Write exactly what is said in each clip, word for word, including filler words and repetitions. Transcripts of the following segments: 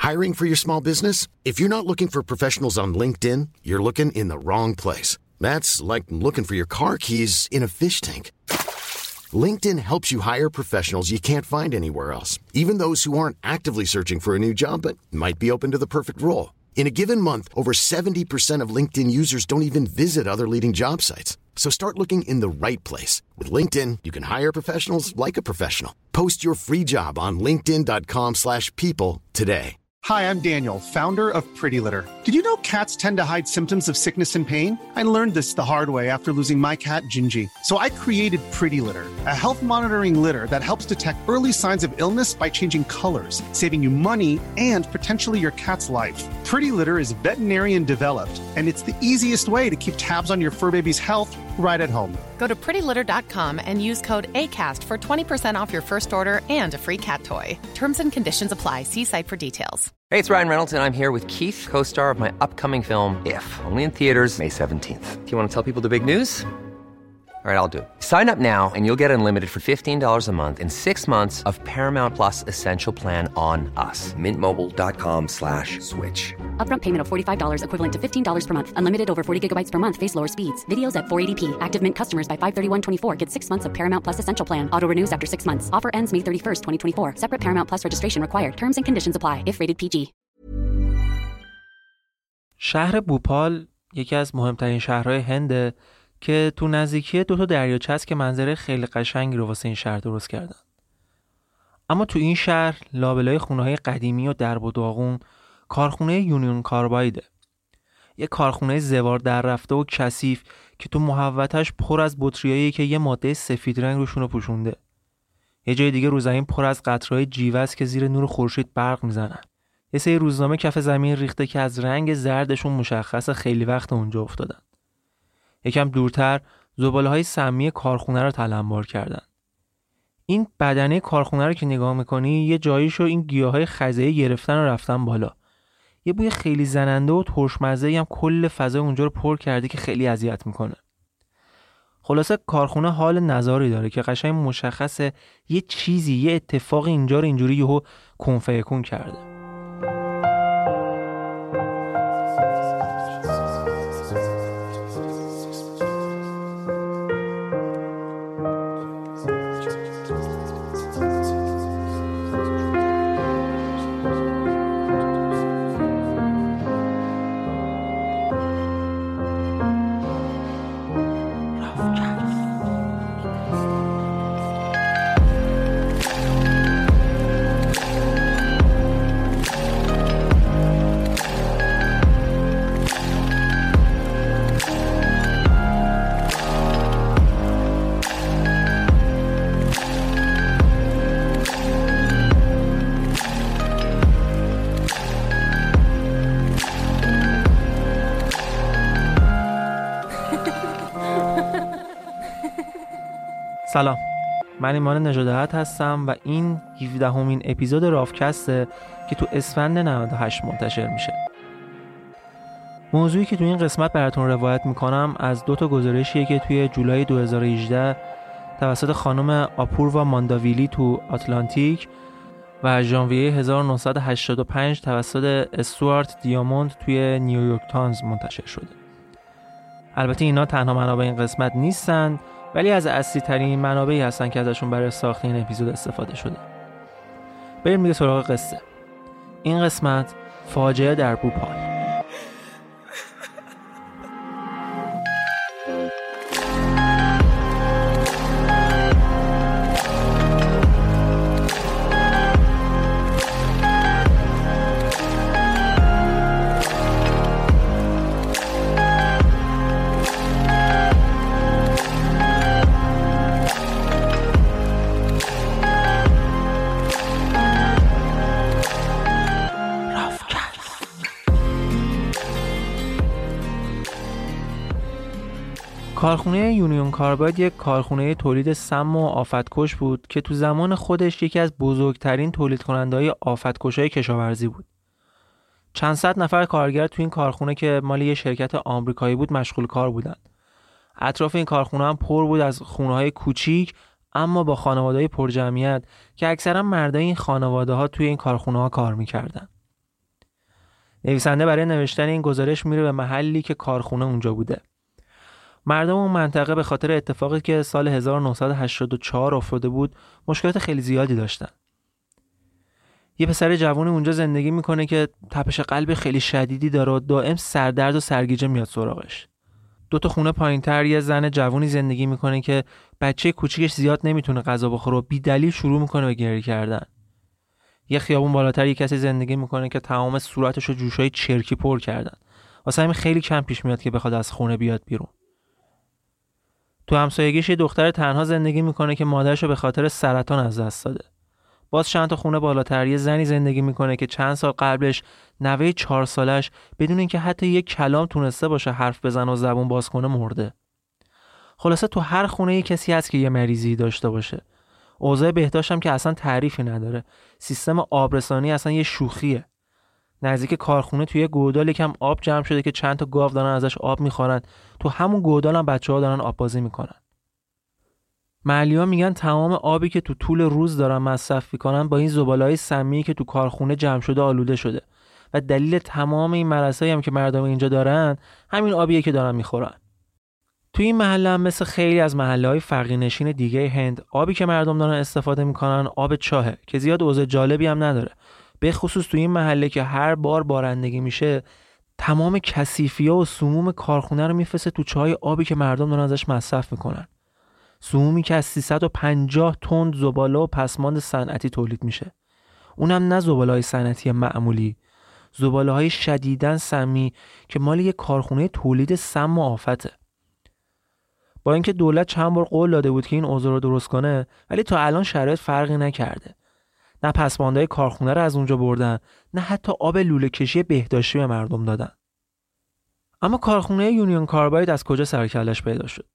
Hiring for your small business? If you're not looking for professionals on LinkedIn, you're looking in the wrong place. That's like looking for your car keys in a fish tank. LinkedIn helps you hire professionals you can't find anywhere else, even those who aren't actively searching for a new job but might be open to the perfect role. In a given month, over seventy percent of LinkedIn users don't even visit other leading job sites. So start looking in the right place. With LinkedIn, you can hire professionals like a professional. Post your free job on linkedin.com slash people today. Hi, I'm Daniel, founder of Pretty Litter. Did you know cats tend to hide symptoms of sickness and pain? I learned this the hard way after losing my cat, Gingy. So I created Pretty Litter, a health monitoring litter that helps detect early signs of illness by changing colors, saving you money and potentially your cat's life. Pretty Litter is veterinarian developed, and it's the easiest way to keep tabs on your fur baby's health right at home. Go to pretty litter dot com and use code ACAST for twenty percent off your first order and a free cat toy. Terms and conditions apply. See site for details. Hey, it's Ryan Reynolds, and I'm here with Keith, co-star of my upcoming film, If, only in theaters May seventeenth. Do you want to tell people the big news? All right, I'll do it. Sign up now and you'll get unlimited for fifteen dollars a month and six months of Paramount Plus Essential Plan on us. Mint Mobile dot com slash switch. Upfront payment of forty-five dollars equivalent to fifteen dollars per month. Unlimited over forty gigabytes per month. Face lower speeds. Videos at four eighty p. Active Mint customers by five thirty-one twenty-four get six months of Paramount Plus Essential Plan. Auto renews after six months. Offer ends May thirty-first, twenty twenty-four. Separate Paramount Plus registration required. Terms and conditions apply if rated پی جی. شهر بوپال یکی از مهمترین شهرهای هنده که تو نزدیکی دو تا دریاچه است که منظره خیلی قشنگی رو واسه این شهر درست کردن. اما تو این شهر لابلای خونه‌های قدیمی و درب و داغون کارخونه یونیون کاربایده. یه کارخونه زوار در رفته و کثیف که تو محوطه‌اش پر از بطریایی که یه ماده سفید رنگ روشون رو پوشونده. یه جای دیگه رو زمین پر از قطره‌های جیوه است که زیر نور خورشید برق میزنن. یه سری روزنامه کف زمین ریخته که از رنگ زردشون مشخصه خیلی وقت اونجا افتادن. یکم دورتر زباله‌های سمی کارخونه رو تلمبار کردن. این بدنه کارخونه رو که نگاه میکنی یه جاییشو این گیاهای خزه‌ای گرفتن و رفتن بالا. یه بوی خیلی زننده و ترشمزه‌ای هم کل فضای اونجا رو پر کرده که خیلی اذیت میکنه. خلاصه کارخونه حال نزاری داره که قشنگ مشخصه یه چیزی یه اتفاقی اینجا رو اینجوری یهو کن فیکون کرده. سلام، من ایمان نژاده‌ات هستم و این هفدهمین اپیزود رافکسته که تو اسفند نود و هشت منتشر میشه. موضوعی که تو این قسمت براتون روایت میکنم از دو تا گزارشیه که توی جولای دو هزار و هجده توسط خانم آپوروا مانداویلی تو آتلانتیک و ژانویه هزار و نهصد و هشتاد و پنج توسط استوارت دیاموند توی نیویورک تایمز منتشر شده. البته اینا تنها منابع این قسمت نیستن، ولی از اصلی ترین منابعی هستن که ازشون برای ساخت این اپیزود استفاده شده. بریم دیگه سراغ قصه. این قسمت فاجعه در بوپال. کارخونه یونیون کارباید یک کارخونه تولید سم و آفتکش بود که تو زمان خودش یکی از بزرگترین تولید کننده‌های آفتکش‌های کشاورزی بود. چند صد نفر کارگر تو این کارخونه که مال یه شرکت آمریکایی بود مشغول کار بودن. اطراف این کارخونه هم پر بود از خونه‌های کوچیک اما با خانواده‌های پرجمعیت که اکثرا مردای این خانواده‌ها توی این کارخونه‌ها کار می‌کردن. نویسنده برای نوشتن این گزارش میره به محلی که کارخونه اونجا بوده. مردم اون منطقه به خاطر اتفاقی که سال هزار و نهصد و هشتاد و چهار افتاده بود مشکلات خیلی زیادی داشتن. یه پسر جوانی اونجا زندگی میکنه که تپش قلب خیلی شدیدی داره و دائم سردرد و سرگیجه میاد سراغش. دو تا خونه پایین‌تر یه زن جوانی زندگی میکنه که بچه کوچیکش زیاد نمیتونه غذا بخوره و بی‌دلیل شروع میکنه به گریه کردن. یه خیابون بالاتر یه کسی زندگی میکنه که تمام صورتش رو جوشای چرکی پر کردن. واسه همین خیلی کم پیش میاد که بخواد از خونه بیاد بیرون. تو همسایگیش یه دختر تنها زندگی میکنه که مادرش رو به خاطر سرطان از دست داده. باز چند تا خونه بالاتر یه زنی زندگی میکنه که چند سال قبلش نوه چهار سالش بدون اینکه حتی یک کلام تونسته باشه حرف بزنه و زبون باز کنه مرده. خلاصه تو هر خونه یه کسی هست که یه مریضی داشته باشه. اوضاع بهداشت هم که اصلا تعریفی نداره. سیستم آبرسانی اصلا یه شوخیه. نزدیک کارخونه توی گودال یکم آب جمع شده که چند تا گاو دارن ازش آب میخورن. تو همون گودال هم بچه‌ها دارن آب بازی میکنن. محلی‌ها میگن تمام آبی که تو طول روز دارن مصرف میکنن با این زباله‌های سمی که تو کارخونه جمع شده آلوده شده و دلیل تمام این مرضایی هم که مردم اینجا دارن همین آبیه که دارن میخورن. تو این محله هم مثل خیلی از محله‌های فقیرنشین دیگه هند آبی که مردم دارن استفاده میکنن آب چاهه که زیاد اوضاع جالبی هم نداره. به خصوص تو این محله که هر بار بارندگی میشه تمام کثیفی‌ها و سموم کارخونه رو میفرسته تو چای آبی که مردم دارن ازش مصرف میکنن. سمومی که از سیصد و پنجاه تن زباله و پسماند صنعتی تولید میشه. اونم نه زباله‌های صنعتی معمولی، زباله‌های شدیداً سمی که مال یه کارخونه تولید سم و آفته. با اینکه دولت چند بار قول داده بود که این اوضاع رو درست کنه، ولی تا الان شرایط فرقی نکرده. نه پسماندهای کارخونه رو از اونجا بردن، نه حتی آب لوله کشی بهداشتی به مردم دادن. اما کارخونه یونیون کارباید از کجا سر کلش پیدا شد؟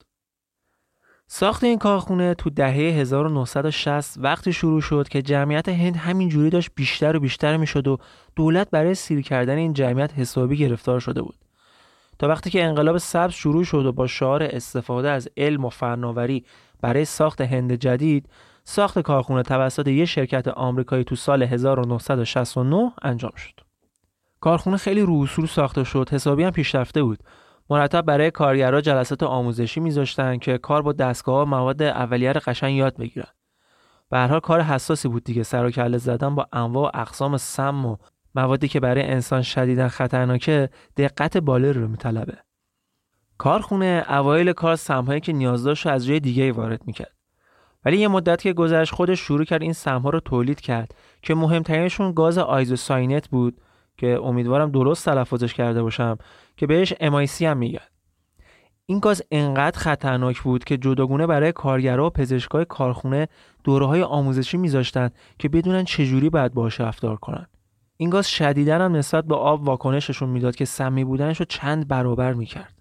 ساخت این کارخونه تو دهه هزار و نهصد و شصت وقتی شروع شد که جمعیت هند همین جوری داشت بیشتر و بیشتر میشد و دولت برای سیر کردن این جمعیت حسابی گرفتار شده بود. تا وقتی که انقلاب سبز شروع شد و با شعار استفاده از علم و فناوری برای ساخت هند جدید، ساخت کارخونه توسط یک شرکت آمریکایی تو سال هزار و نهصد و شصت و نه انجام شد. کارخونه خیلی رو اصول ساخته شد، حسابی هم پیشرفته بود. مرتب برای کارگرها جلسات آموزشی میذاشتن که کار با دستگاه و مواد اولیه رو قشنگ یاد بگیرن. به هر حال کار حساسی بود دیگه، سر و کله زدن با انواع و اقسام سم و موادی که برای انسان شدیداً خطرناکه دقت بالایی رو میطلبه. کارخونه اوایل کار سم‌هایی که نیاز داشت از جای دیگه وارد میکرد. ولی یه مدت که گذشت خودش شروع کرد این سم‌ها رو تولید کرد که مهمترینشون گاز آیزوساینت بود که امیدوارم درست تلفظش کرده باشم که بهش ام آی سی هم میگن. این گاز انقدر خطرناک بود که جداگونه برای کارگرها و پزشکای کارخونه دوره‌های آموزشی میذاشتن که بدونن چجوری باید باهاش رفتار کنن. این گاز شدیداً هم نسبت به آب واکنششون میداد که سمی بودنش رو چند برابر میکرد.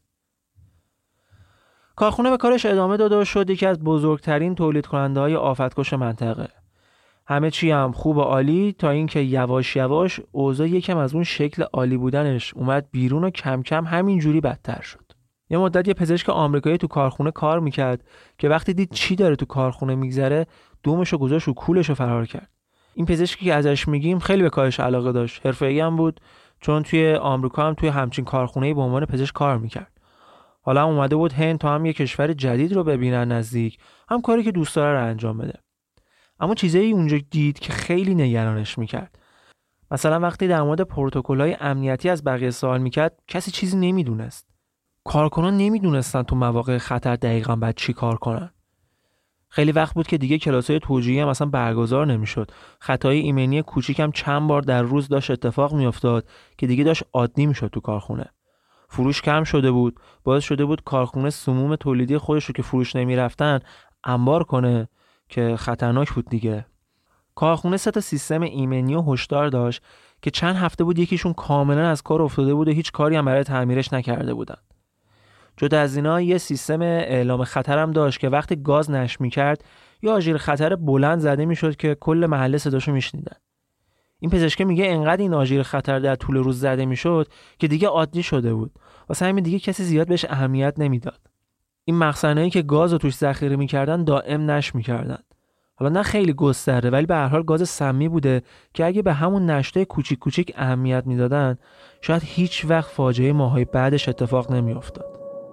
کارخونه به کارش ادامه داد و شد یکی از بزرگترین تولید کننده‌های آفتکش منطقه. همه چی هم خوب و عالی تا اینکه یواش یواش اوضاع یکم از اون شکل عالی بودنش اومد بیرون و کم کم همینجوری بدتر شد. یه مدت یه پزشک آمریکایی تو کارخونه کار میکرد که وقتی دید چی داره تو کارخونه میگذره دومشو گذاشت و کولشو فرار کرد. این پزشکی که ازش میگیم خیلی به کارش علاقه داشت، حرفه‌ای هم بود، چون توی آمریکا هم توی همچین کارخونه‌ای به عنوان پزشک کار میکرد. حالا هم اومده بود هند تا هم یه کشور جدید رو ببینن نزدیک، هم کاری که دوست داره رو انجام بده. اما چیزایی اونجا دید که خیلی نگرانش میکرد. مثلا وقتی در مورد پروتکل‌های امنیتی از بقیه سوال میکرد کسی چیزی نمیدونست. کارکنان نمیدونستن تو مواقع خطر دقیقاً باید چی کار کنن. خیلی وقت بود که دیگه کلاس‌های توجیهی هم اصلا برگزار نمیشد. خطای ایمنی کوچیک هم چند بار در روز داشت اتفاق میافتاد که دیگه داشت عادی میشد تو کارخونه. فروش کم شده بود، باعث شده بود کارخونه سموم تولیدی خودش رو که فروش نمیرفتن انبار کنه که خطرناک بود دیگه. کارخونه سه تا سیستم ایمنی و هشدار داشت که چند هفته بود یکیشون کاملا از کار افتاده بود و هیچ کاری هم برای تعمیرش نکرده بودن. جدا از اینا یه سیستم اعلام خطر هم داشت که وقتی گاز نشت می‌کرد یا آژیر خطر بلند زده میشد که کل محله صداشو میشنیدن. این پزشک میگه انقدر این آژیر خطر در طول روز زده میشد که دیگه عادی شده بود. واسه همین دیگه کسی زیاد بهش اهمیت نمیداد. این مخزنایی که گاز رو توش ذخیره می‌کردن دائم نشت می‌کردن. حالا نه خیلی گسترده، ولی به هر حال گاز سمی بوده که اگه به همون نشتای کوچیک کوچیک اهمیت میدادن شاید هیچ وقت فاجعه ماهای بعدش اتفاق نمیافتاد.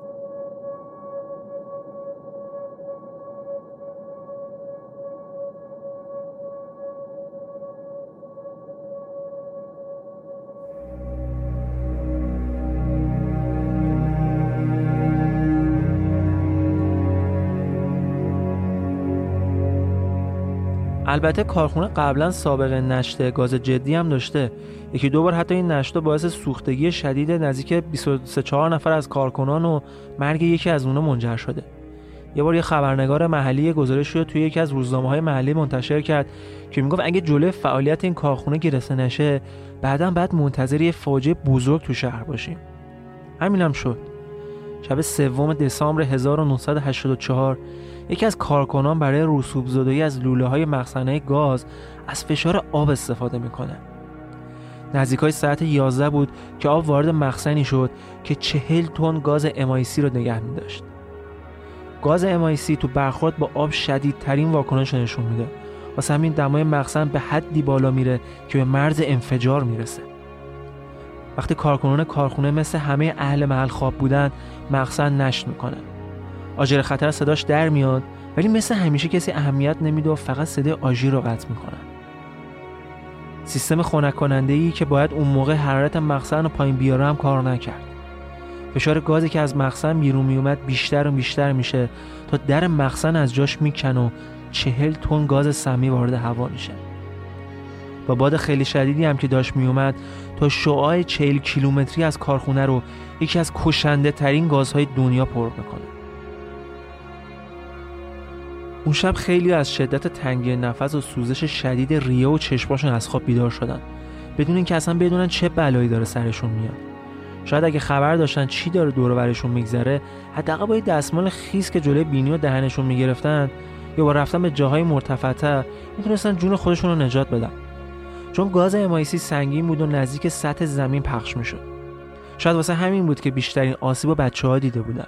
البته کارخونه قبلا سابقه نشت گاز جدی هم داشته. یکی دو بار حتی این نشت باعث سوختگی شدید نزدیک بیست و سه چهار نفر از کارکنان و مرگ یکی از اونها منجر شده. یه بار یه خبرنگار محلی گزارش رو توی یکی از روزنامه‌های محلی منتشر کرد که میگفت اگه جلوی فعالیت این کارخونه گرفته نشه بعداً بعد منتظر یه فاجعه بزرگ تو شهر باشیم. همینم هم شد. شب سوم دسامبر هزار و نهصد و هشتاد و چهار یکی از کارکنان برای رسوب زدایی از لوله‌های مخزنه گاز از فشار آب استفاده میکنه. نزدیکای ساعت یازده بود که آب وارد مخزنی شد که چهل تن گاز ام آی سی رو نگه می‌داشت. گاز ام آی سی تو برخورد با آب شدیدترین واکنش رو نشون میده. واسه همین دمای مخزن به حدی بالا میره که به مرز انفجار میرسه. وقتی کارکنان کارخونه مثل همه اهل محل خواب بودن، مخزن نشت میکنه. آژیر خطر صداش در میاد، ولی مثل همیشه کسی اهمیت نمیده و فقط صدای آژیر رو قطع میکنن. سیستم خنک کننده‌ای که باید اون موقع حرارت مخزن رو پایین بیاره هم کار نکرد. فشار گازی که از مخزن بیرون میومد بیشتر و بیشتر میشه تا در مخزن از جاش میکنه و چهل تن گاز سمی وارد هوا میشه. با باد خیلی شدیدی هم که داشت میومد تا شعاع چهل کیلومتری از کارخونه رو یکی از کشنده ترین گازهای دنیا پر میکنه. اون شب خیلی از شدت تنگی نفس و سوزش شدید ریه و چشماشون از خواب بیدار شدن بدون اینکه اصلا بدونن چه بلایی داره سرشون میاد. شاید اگه خبر داشتن چی داره دور و برشون میگذره، حداقل با یه دستمال خیس که جلوی بینی و دهنشون میگرفتن یا با رفتن به جاهای مرتفع‌تر میتونستن جون خودشون رو نجات بدن. چون گاز ام آی سی سنگین بود و نزدیک سطح زمین پخش میشد. شاید واسه همین بود که بیشترین آسیب رو بچه‌ها دیده بودن.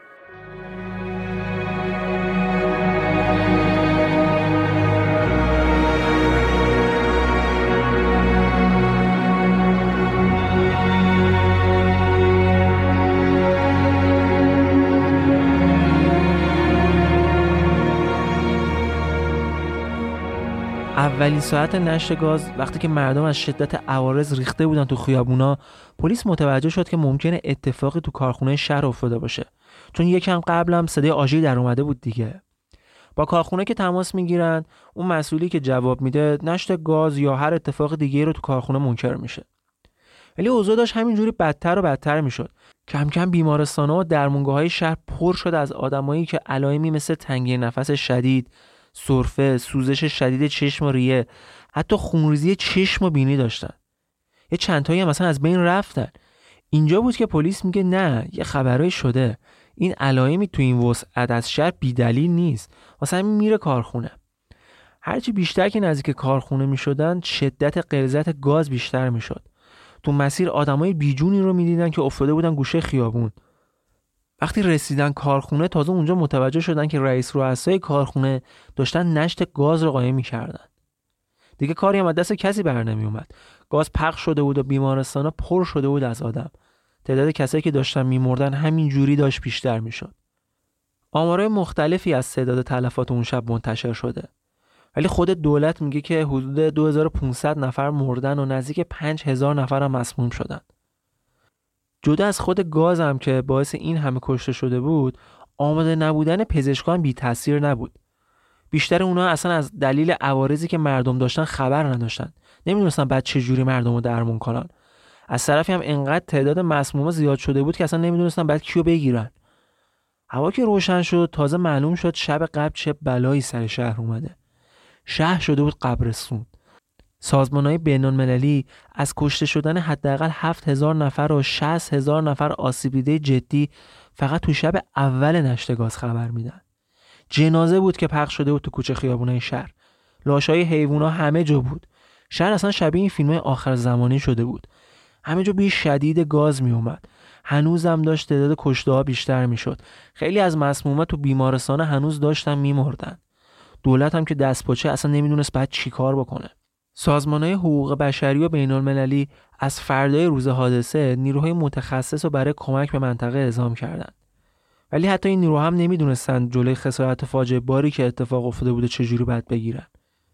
اولین ساعت نشت گاز وقتی که مردم از شدت عوارض ریخته بودن تو خیابونا، پلیس متوجه شد که ممکنه اتفاقی تو کارخونه شهر افتاده باشه، چون یکم قبل هم صدای آژیر در اومده بود دیگه. با کارخونه که تماس میگیرن، اون مسئولی که جواب میده نشت گاز یا هر اتفاق دیگه رو تو کارخونه منکر میشه. ولی اوضاع داشت همینجوری بدتر و بدتر میشد. کم کم بیمارستان‌ها و درمونگاه‌های شهر پر شد از آدمایی که علائمی مثل تنگی نفس شدید، سرفه، سوزش شدید چشم و ریه، حتی خونریزی چشم و بینی داشتن. یه چند تایی هم مثلا از بین رفتن. اینجا بود که پلیس میگه نه، یه خبرایی شده. این علائمی تو این وسعت از شهر بی‌دلیل نیست. واسه همین میره کارخونه. هرچی بیشتر که نزدیک کارخونه میشدن، شدت غلظت گاز بیشتر میشد. تو مسیر آدمای بیجونی رو میدیدن که افتاده بودن گوشه خیابون. وقتی رسیدن کارخونه، تازه اونجا متوجه شدن که رئیس رؤسای کارخونه داشتن نشت گاز رو قایم می‌کردن. دیگه کاری هم از دست کسی بر نمی اومد. گاز پخش شده بود و بیمارستانا پر شده بود از آدم. تعداد کسایی که داشتن می‌مردن همین جوری داشت بیشتر می‌شد. آمارهای مختلفی از تعداد تلفات اون شب منتشر شده. ولی خود دولت میگه که حدود دو هزار و پانصد نفر مردن و نزدیک پنج هزار نفر هم مسموم شدن. جدا از خود گاز هم که باعث این همه کشته شده بود، آماده نبودن پزشکان بی تاثیر نبود. بیشتر اونها اصلا از دلیل عوارضی که مردم داشتن خبر نداشتن. نمیدونستن بعد چه جوری مردم رو درمون کنن. از طرفی هم انقدر تعداد مسموما زیاد شده بود که اصلا نمیدونستن بعد کیو بگیرن. هوا که روشن شد، تازه معلوم شد شب قبل چه بلایی سر شهر اومده. شهر شده بود قبرستون. سازمان‌های بین‌المللی از کشته شدن حداقل هفت هزار نفر و شصت هزار نفر آسیب دیده جدی فقط تو شب اول نشت گاز خبر میدن. جنازه بود که پخش شده بود تو کوچه خیابونای شهر. لاشای حیوونا همه جا بود. شهر اصلا شبیه این فیلم‌های آخر زمانی شده بود. همه جا بوی شدید گاز می اومد. هنوزم داشت تعداد کشته‌ها بیشتر میشد. خیلی از مسموما تو بیمارستان هنوز داشتن میمردن. دولت هم که دستپاچه اصلا نمیدونست بعد چی کار بکنه. سازمان‌های حقوق بشری و بین‌المللی از فردای روز حادثه نیروهای متخصص رو برای کمک به منطقه اعزام کردند. ولی حتی این نیروها هم نمیدونستن جلوی خسارت فاجعه باری که اتفاق افتاده بوده چجوری باید بگیرن.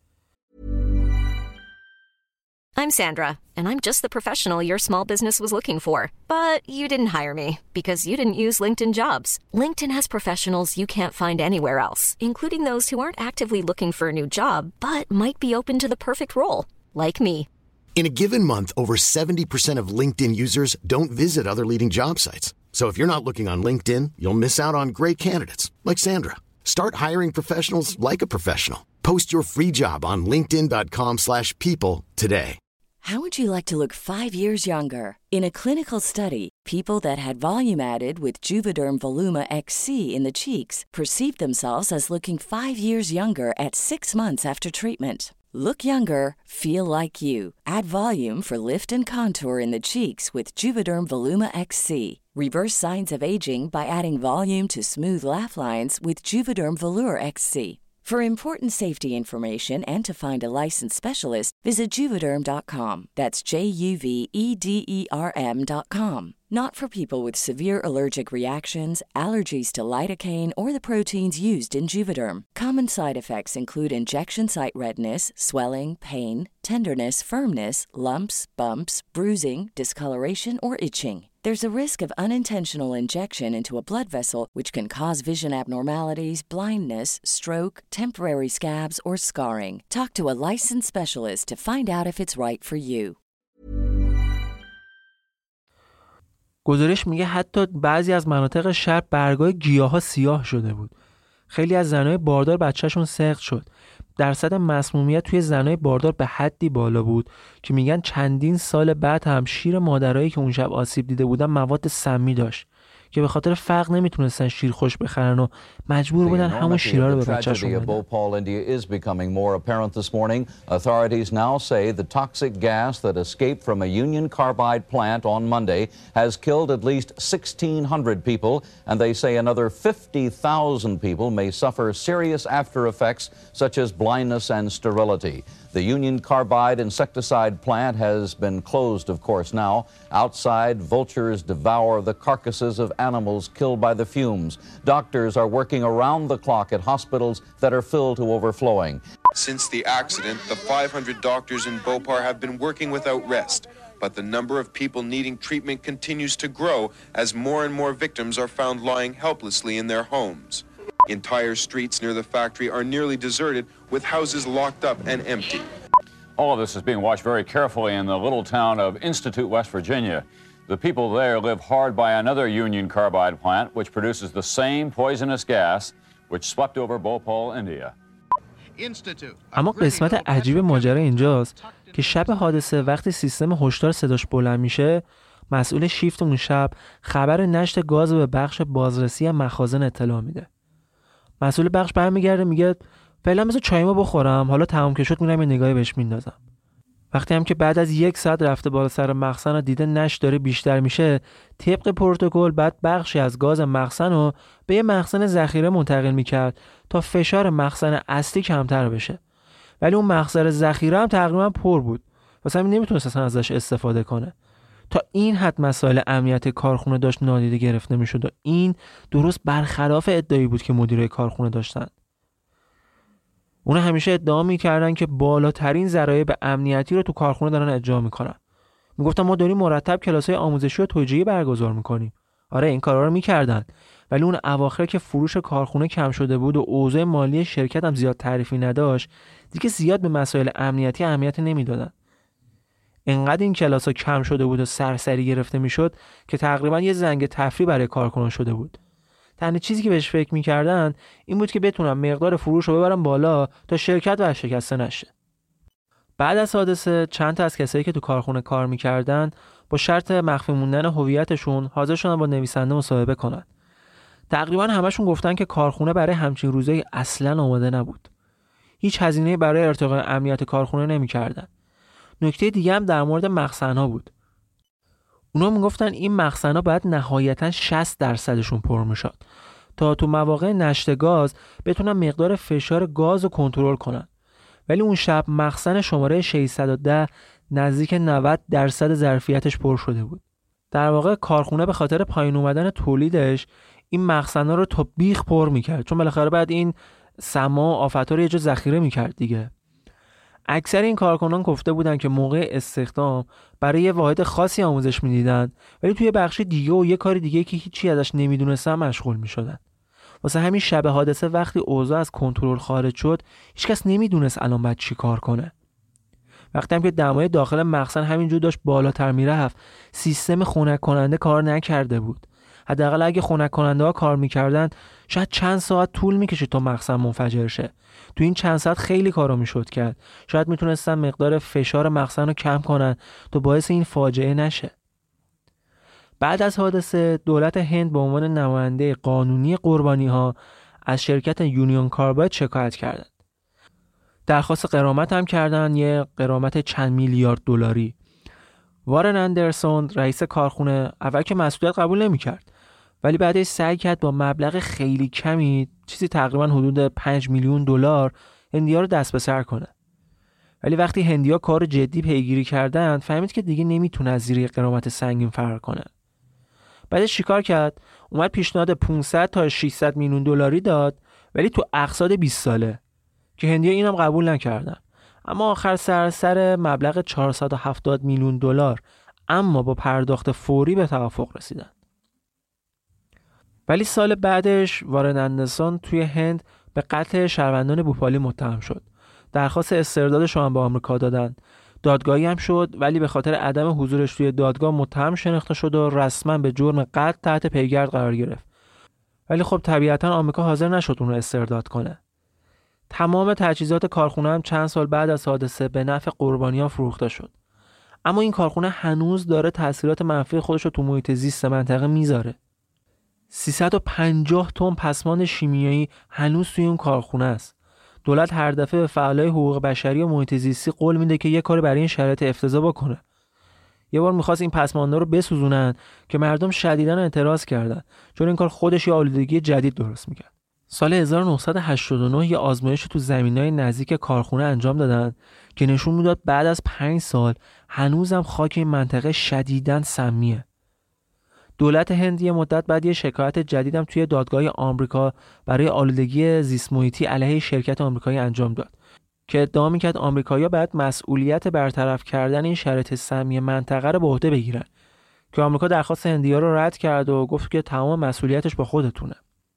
I'm Sandra, and I'm just the professional your small business was looking for. But you didn't hire me because you didn't use LinkedIn Jobs. LinkedIn has professionals you can't find anywhere else, including those who aren't actively looking for a new job, but might be open to the perfect role, like me. In a given month, over seventy percent of LinkedIn users don't visit other leading job sites. So if you're not looking on LinkedIn, you'll miss out on great candidates like Sandra. Start hiring professionals like a professional. Post your free job on linkedin dot com slash people today. How would you like to look five years younger? In a clinical study, people that had volume added with Juvederm Voluma X C in the cheeks perceived themselves as looking five years younger at six months after treatment. Look younger, feel like you. Add volume for lift and contour in the cheeks with Juvederm Voluma X C. Reverse signs of aging by adding volume to smooth laugh lines with Juvederm Volure X C. For important safety information and to find a licensed specialist, visit Juvederm dot com. That's J U V E D E R M dot com. Not for people with severe allergic reactions, allergies to lidocaine, or the proteins used in Juvederm. Common side effects include injection site redness, swelling, pain, tenderness, firmness, lumps, bumps, bruising, discoloration, or itching. There's a risk of unintentional injection into a blood vessel, which can cause vision abnormalities, blindness, stroke, temporary scabs, or scarring. Talk to a licensed specialist to find out if it's right for you. گزارش میگه حتی بعضی از مناطق شهر برگای گیاها سیاه شده بود. خیلی از زنای باردار بچه‌شون سقط شد. درصد مسمومیت توی زنای باردار به حدی بالا بود که میگن چندین سال بعد هم شیر مادرایی که اون شب آسیب دیده بودن مواد سمی داشت که به خاطر فقر نمیتونستن شیر خوش بخرن و مجبور بودن همون شیرها رو به بچه‌شون بدن. Bhopal, India is becoming more apparent this morning. Authorities now say the toxic gas that escaped from a Union Carbide plant on Monday has killed at least sixteen hundred people, and they say another fifty thousand people may suffer serious after effects such as blindness and sterility. The Union Carbide insecticide plant has been closed, of course, now. Outside, vultures devour the carcasses of animals killed by the fumes. Doctors are working around the clock at hospitals that are filled to overflowing. Since the accident, the five hundred doctors in Bhopal have been working without rest, but the number of people needing treatment continues to grow as more and more victims are found lying helplessly in their homes. Entire streets near the factory are nearly deserted, with houses locked up and empty. All of this is being watched very carefully in the little town of Institute, West Virginia. The people there live hard by another Union Carbide plant, which produces the same poisonous gas which swept over Bhopal, India. اما قسمت عجیب ماجرا اینجاست که شب حادثه وقتی سیستم هشدار صداش بلند میشه، مسئول شیفت اون شب خبر نشت گاز به بخش بازرسی مخازن اطلاع میده. مسئول بخش برمیگرده میگه فعلا بذار چایمو بخورم، حالا تمام که شد میرم یه نگاهی بهش میندازم. وقتی هم که بعد از یک ساعت رفته بالا سر مخزن و دیده نشت داره بیشتر میشه، طبق پروتکل بعد بخشی از گاز مخزن رو به یه مخزن ذخیره منتقل میکرد تا فشار مخزن اصلی کمتر بشه. ولی اون مخزن ذخیره هم تقریبا پر بود، واسه همین نمیتونست اصلا ازش استفاده کنه. تا این حد مسائل امنیت کارخونه داشت نادیده گرفته میشد و این درست برخلاف ادعایی بود که مدیرای کارخونه داشتن. اونا همیشه ادعا میکردن که بالاترین ضرایب امنیتی رو تو کارخونه دارن اجرا میکنن. میگفتن ما داریم مرتب کلاسای آموزشی و توجیهی برگزار میکنیم. آره این کارا رو میکردن، ولی اون اواخر که فروش کارخونه کم شده بود و اوضاع مالی شرکت هم زیاد تعریفی نداشت، دیگه زیاد به مسائل امنیتی اهمیت نمیدادن. اینقدر این کلاسا کم شده بود و سرسری گرفته میشد که تقریبا یه زنگ تفریح برای کارکنان شده بود. تنها چیزی که بهش فکر میکردن این بود که بتونن مقدار فروش رو ببرن بالا تا شرکت ورشکسته نشه. بعد از حادثه چند تا از کسایی که تو کارخونه کار میکردن با شرط مخفی موندن هویتشون حاضر شدن با نویسنده مصاحبه کنن. تقریبا همشون گفتن که کارخونه برای همچین روزایی اصلاً آماده نبود. هیچ هزینه‌ای برای ارتقاء امنیت کارخونه نمیکردن. نکته دیگه هم در مورد مخزن‌ها بود. اونا میگفتن این مخزن‌ها باید نهایتاً شصت درصدشون پر میشد تا تو مواقع نشت گاز بتونن مقدار فشار گاز رو کنترل کنن. ولی اون شب مخزن شماره ششصد و ده نزدیک نود درصد ظرفیتش پر شده بود. در واقع کارخونه به خاطر پایین اومدن تولیدش این مخزن‌ها رو تا بیخ پر میکرد، چون بالاخره بعد این سما و آفت‌ها رو یه جا ذخیره میکرد دیگه. اکثر این کارکنان گفته بودن که موقع استخدام برای یه واحد خاصی آموزش میدیدن، ولی توی بخش دیگه و یه کار دیگه که هیچی ازش نمیدونستن مشغول میشدن. واسه همین شب حادثه وقتی اوضاع از کنترل خارج شد، هیچکس نمیدونست الان باید چی کار کنه. وقتی هم که دمای داخل مخزن همینجور داشت بالاتر میرفت، سیستم خنک کننده کار نکرده بود. حداقل اگه خنک کننده ها کار میکردن شاید چند ساعت طول میکشید تا مخزن منفجر شه. تو این چند ساعت خیلی کارا میشد کرد. شاید میتونستن مقدار فشار مخزن رو کم کنن تا باعث این فاجعه نشه. بعد از حادثه دولت هند به عنوان نماینده قانونی قربانی ها از شرکت یونیون کارباید شکایت کردند. درخواست غرامت هم کردن، یه غرامت چند میلیارد دلاری. وارن اندرسون رئیس کارخونه اول که مسئولیت قبول نمی‌کرد، ولی بعدش سعی کرد با مبلغ خیلی کمی، چیزی تقریبا حدود پنج میلیون دلار، هندی‌ها رو دست به سر کنه. ولی وقتی هندی‌ها کار جدی پیگیری کردن، فهمید که دیگه نمیتونه از زیر غرامت سنگین فرار کنه. بعدش چیکار کرد؟ اومد پیشنهاد پانصد تا ششصد میلیون دلاری داد، ولی تو اقساط بیست ساله، که هندی‌ها اینم قبول نکردن. اما آخر سر سر مبلغ چهارصد و هفتاد میلیون دلار اما با پرداخت فوری به توافق رسیدن. ولی سال بعدش وارن اندرسون توی هند به قتل شهروندان بوپالی متهم شد. درخواست استردادش رو هم به آمریکا دادن. دادگاهی هم شد، ولی به خاطر عدم حضورش توی دادگاه متهم شناخته شد و رسما به جرم قتل تحت پیگرد قرار گرفت. ولی خب طبیعتاً آمریکا حاضر نشد اون رو استرداد کنه. تمام تجهیزات کارخونه هم چند سال بعد از حادثه به نفع قربانیان فروخته شد. اما این کارخونه هنوز داره تاثیرات منفی خودش رو تو محیط زیست منطقه میذاره. سیصد و پنجاه تن پسماند شیمیایی هنوز توی اون کارخونه است. دولت هر دفعه به فعالای حقوق بشری و محیط زیستی قول میده که یه کار برای این شرایط افتضاح بکنه. یه بار می‌خواست این پسماندا رو بسوزونن که مردم شدیداً اعتراض کردن، چون این کار خودش یه آلودگی جدید درست می‌کرد. سال هزار و نهصد و هشتاد و نه یه آزمایش تو زمینای نزدیک کارخونه انجام دادن که نشون میداد بعد از پنج سال هنوزم خاک این منطقه شدیداً سمیه. دولت هند یه مدت بعد یه شکایت جدیدم توی دادگاه آمریکا برای آلودگی زیست محیطی علیه شرکت آمریکایی انجام داد که ادعا می‌کرد آمریکایی‌ها باید مسئولیت برطرف کردن این شرایط سمی منطقه رو به عهده بگیرن، که آمریکا درخواست هندی‌ها رو رد کرد و گفت که تمام مسئولیتش با خودتونه.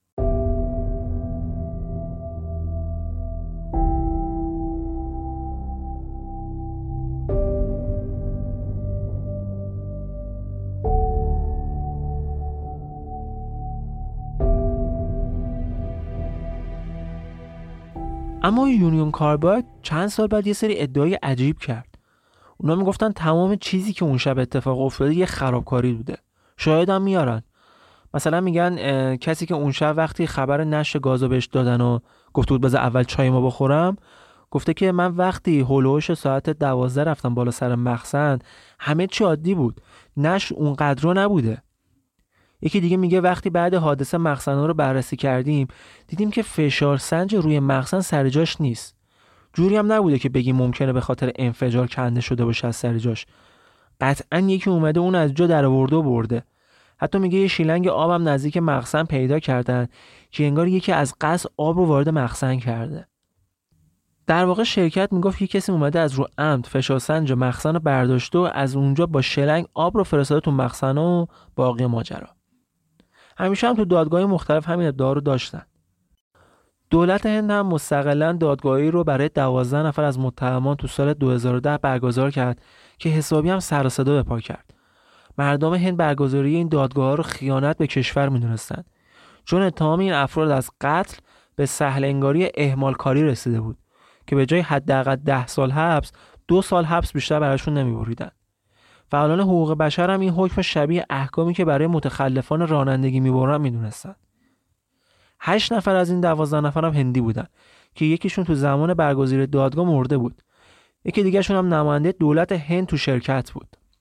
اما یونیون کارباید چند سال بعد یه سری ادعای عجیب کرد. اونا میگفتن تمام چیزی که اون شب اتفاق افتاده یه خرابکاری بوده. شاهد هم میارن. مثلا میگن کسی که اون شب وقتی خبر نشت گازو بهش دادن و گفته بود بذار اول چای ما بخورم، گفته که من وقتی هولوش ساعت دوازده رفتم بالا سر مخزن همه چی عادی بود. نشت اونقدر نبوده. یکی دیگه میگه وقتی بعد حادثه مخزن‌ها رو بررسی کردیم دیدیم که فشار سنج روی مخزن سر جاش نیست. جوری هم نبوده که بگیم ممکنه به خاطر انفجار کنده شده باشه از سر جاش. قطعاً یکی اومده اون از جا در آورده و برده. حتی میگه یه شیلنگ آبم نزدیک مخزن پیدا کردن که انگار یکی از قصد آب رو وارد مخزن کرده. در واقع شرکت میگفت یه کسی اومده از رو عمد فشار سنج مخزن رو برداشته و از اونجا با شیلنگ آب رو فرستاده تو مخزن و باقی ماجرا. همیشه هم تو دادگاه‌های مختلف همین ادعا رو داشتن. دولت هند هم مستقلاً دادگاهی رو برای دوازده نفر از متهمان تو سال دو هزار و ده برگزار کرد که حسابی هم سر و صدا به پا کرد. مردم هند برگزاری این دادگاه‌ها رو خیانت به کشور می‌دونستن، چون اتهام این افراد از قتل به سهل انگاری اهمال کاری رسیده بود که به جای حداقل ده سال حبس، دو سال حبس بیشتر براشون نمی‌بریدن. فعالان حقوق بشر هم این حکم شبیه احکامی که برای متخلفان رانندگی میبرن میدونستن. هشت نفر از این دوازده نفر هم هندی بودن که یکیشون تو زمان برگزاری دادگاه مرده بود. یکی دیگه‌شون هم نماینده دولت هند تو شرکت بود.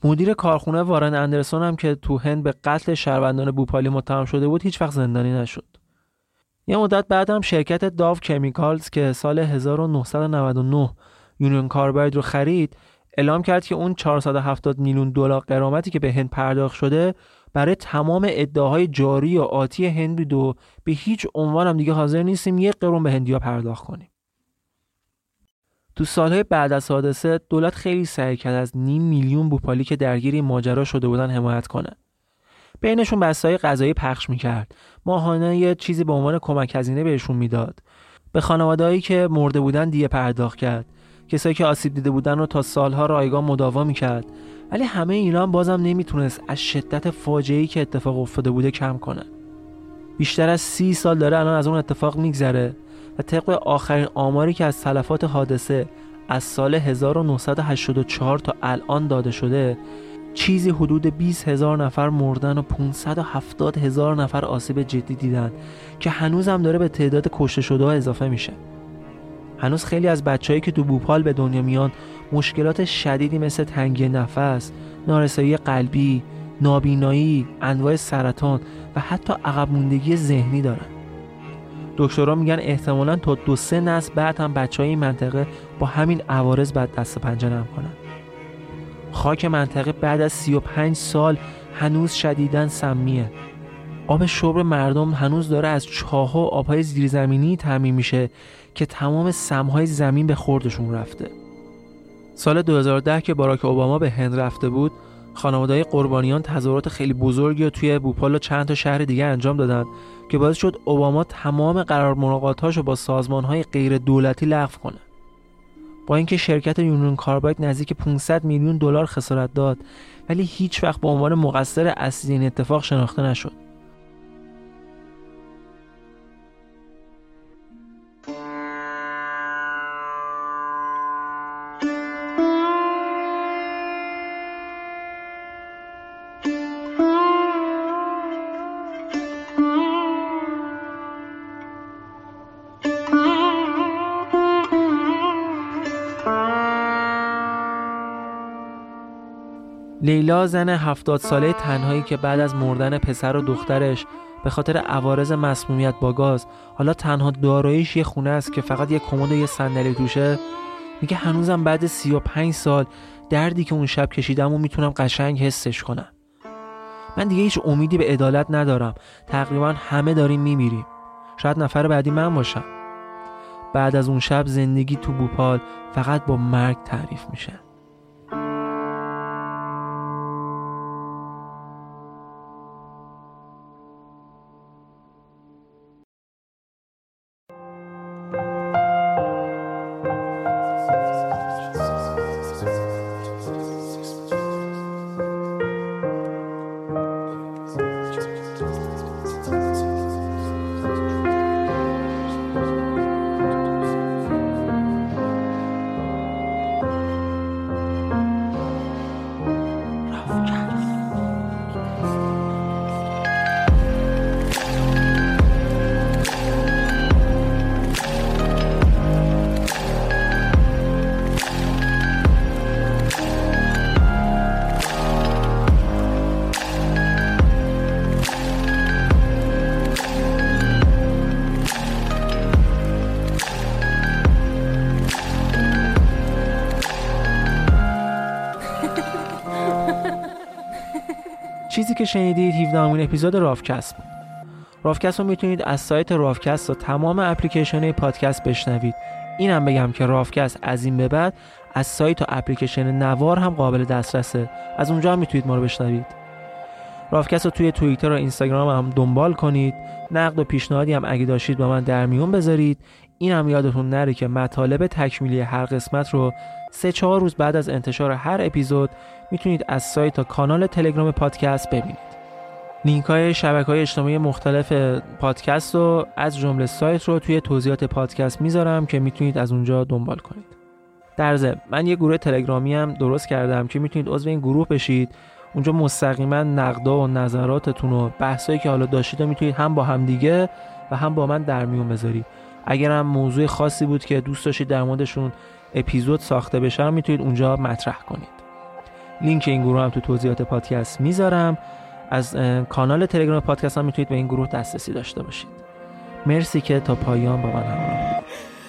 مدیر کارخونه وارن اندرسون هم که تو هند به قتل شهروندان بوپالی متهم شده بود هیچ وقت زندانی نشد. یه مدت بعد هم شرکت داو کمیکالز که سال هزار و نهصد و نود و نه یونیون کارباید رو خرید اعلام کرد که اون چهارصد و هفتاد میلیون دلار غرامتی که به هند پرداخت شده برای تمام ادعاهای جاری و آتی هند بود و به هیچ عنوان هم دیگه حاضر نیستیم یک قرون به هندیا پرداخت کنیم. تو سالهای بعد از حادثه دولت خیلی سعی کرد از نیم میلیون بوپالی که درگیر این ماجرا شده بودن حمایت کنه. بینشون بسته‌های غذایی پخش میکرد، ماهانه یه چیزی به عنوان کمک هزینه بهشون میداد. به خانواده‌هایی که مرده بودن دیه پرداخت کرد. کسایی که آسیب دیده بودن رو تا سالها رایگان مداوا میکرد. ولی همه اینا هم بازم نمیتونست از شدت فاجعه‌ای که اتفاق افتاده بوده کم کنه. بیشتر از سی سال داره الان از اون اتفاق میگذره و طبق آخرین آماری که از تلفات حادثه از سال هزار و نهصد و هشتاد و چهار تا الان داده شده چیزی حدود بیست هزار نفر مردن و پانصد و هفتاد هزار نفر آسیب جدی دیدن که هنوز هم داره به تعداد کشته شده ها اضافه میشه. هنوز خیلی از بچه‌هایی که تو بوپال به دنیا میان مشکلات شدیدی مثل تنگی نفس، نارسایی قلبی، نابینایی، انواع سرطان و حتی عقب موندگی ذهنی دارن. دکترها میگن احتمالاً تا دو سه نسل بعد هم بچه‌های این منطقه با همین عوارض بعد دست پنجه نرم کنن. خاک منطقه بعد از سی و پنج سال هنوز شدیداً سمیه. آب شرب مردم هنوز داره از چاه‌ها و آب‌های زیرزمینی تامین میشه که تمام سم‌های زمین به خوردشون رفته. سال دو هزار و ده که باراک اوباما به هند رفته بود، خانواده‌های قربانیان تظاهرات خیلی بزرگی رو توی بوپال و چند تا شهر دیگه انجام دادن که باعث شد اوباما تمام قرار ملاقات‌هاشو با سازمان‌های غیر دولتی لغو کنه. با اینکه شرکت یونیون کارباید نزدیک پانصد میلیون دلار خسارت داد، ولی هیچ وقت به عنوان مقصر اصلی این اتفاق شناخته نشد. لیلا زن هفتاد ساله تنهایی که بعد از مردن پسر و دخترش به خاطر عوارض مسمومیت با گاز حالا تنها داراییش یه خونه است که فقط یه کمد و یه صندلی توشه، میگه هنوزم بعد سی و پنج سال دردی که اون شب کشیدم و میتونم قشنگ حسش کنم. من دیگه هیچ امیدی به عدالت ندارم. تقریبا همه داریم میمیریم. شاید نفر بعدی من باشم. بعد از اون شب زندگی تو بوپال فقط با مرگ تعریف میشه. چیزی که شنیدید هفدهمین اپیزود رافکست بود. رافکست رو میتونید از سایت رافکست و تمام اپلیکیشن پادکست بشنوید. اینم بگم که رافکست از این به بعد از سایت و اپلیکیشن نوار هم قابل دسترسه. از اونجا هم میتونید ما رو بشنوید. رافکست رو توی توییتر و اینستاگرام هم دنبال کنید. نقد و پیشنهادی هم اگه داشتید با من در میون بذارید. این هم یادتون نره که مطالب تکمیلی هر قسمت رو سه چهار روز بعد از انتشار هر اپیزود میتونید از سایت تا کانال تلگرام پادکست ببینید. لینک های شبکه‌های اجتماعی مختلف پادکست رو از جمله سایت رو توی توضیحات پادکست میذارم که میتونید از اونجا دنبال کنید. در ضمن من یه گروه تلگرامی هم درست کردم که میتونید عضو این گروه بشید. اونجا مستقیما نقدا و نظراتتون و بحثایی که حالا داشتید رو میتونید هم با هم دیگه و هم با من در میون بذارید. اگر هم موضوع خاصی بود که دوست داشتید در موردشون اپیزود ساخته بشه میتونید اونجا مطرح کنید. لینک این گروه هم تو توضیحات پادکست میذارم. از کانال تلگرام پادکست هم میتونید به این گروه دسترسی داشته باشید. مرسی که تا پایان با من همراه بودید.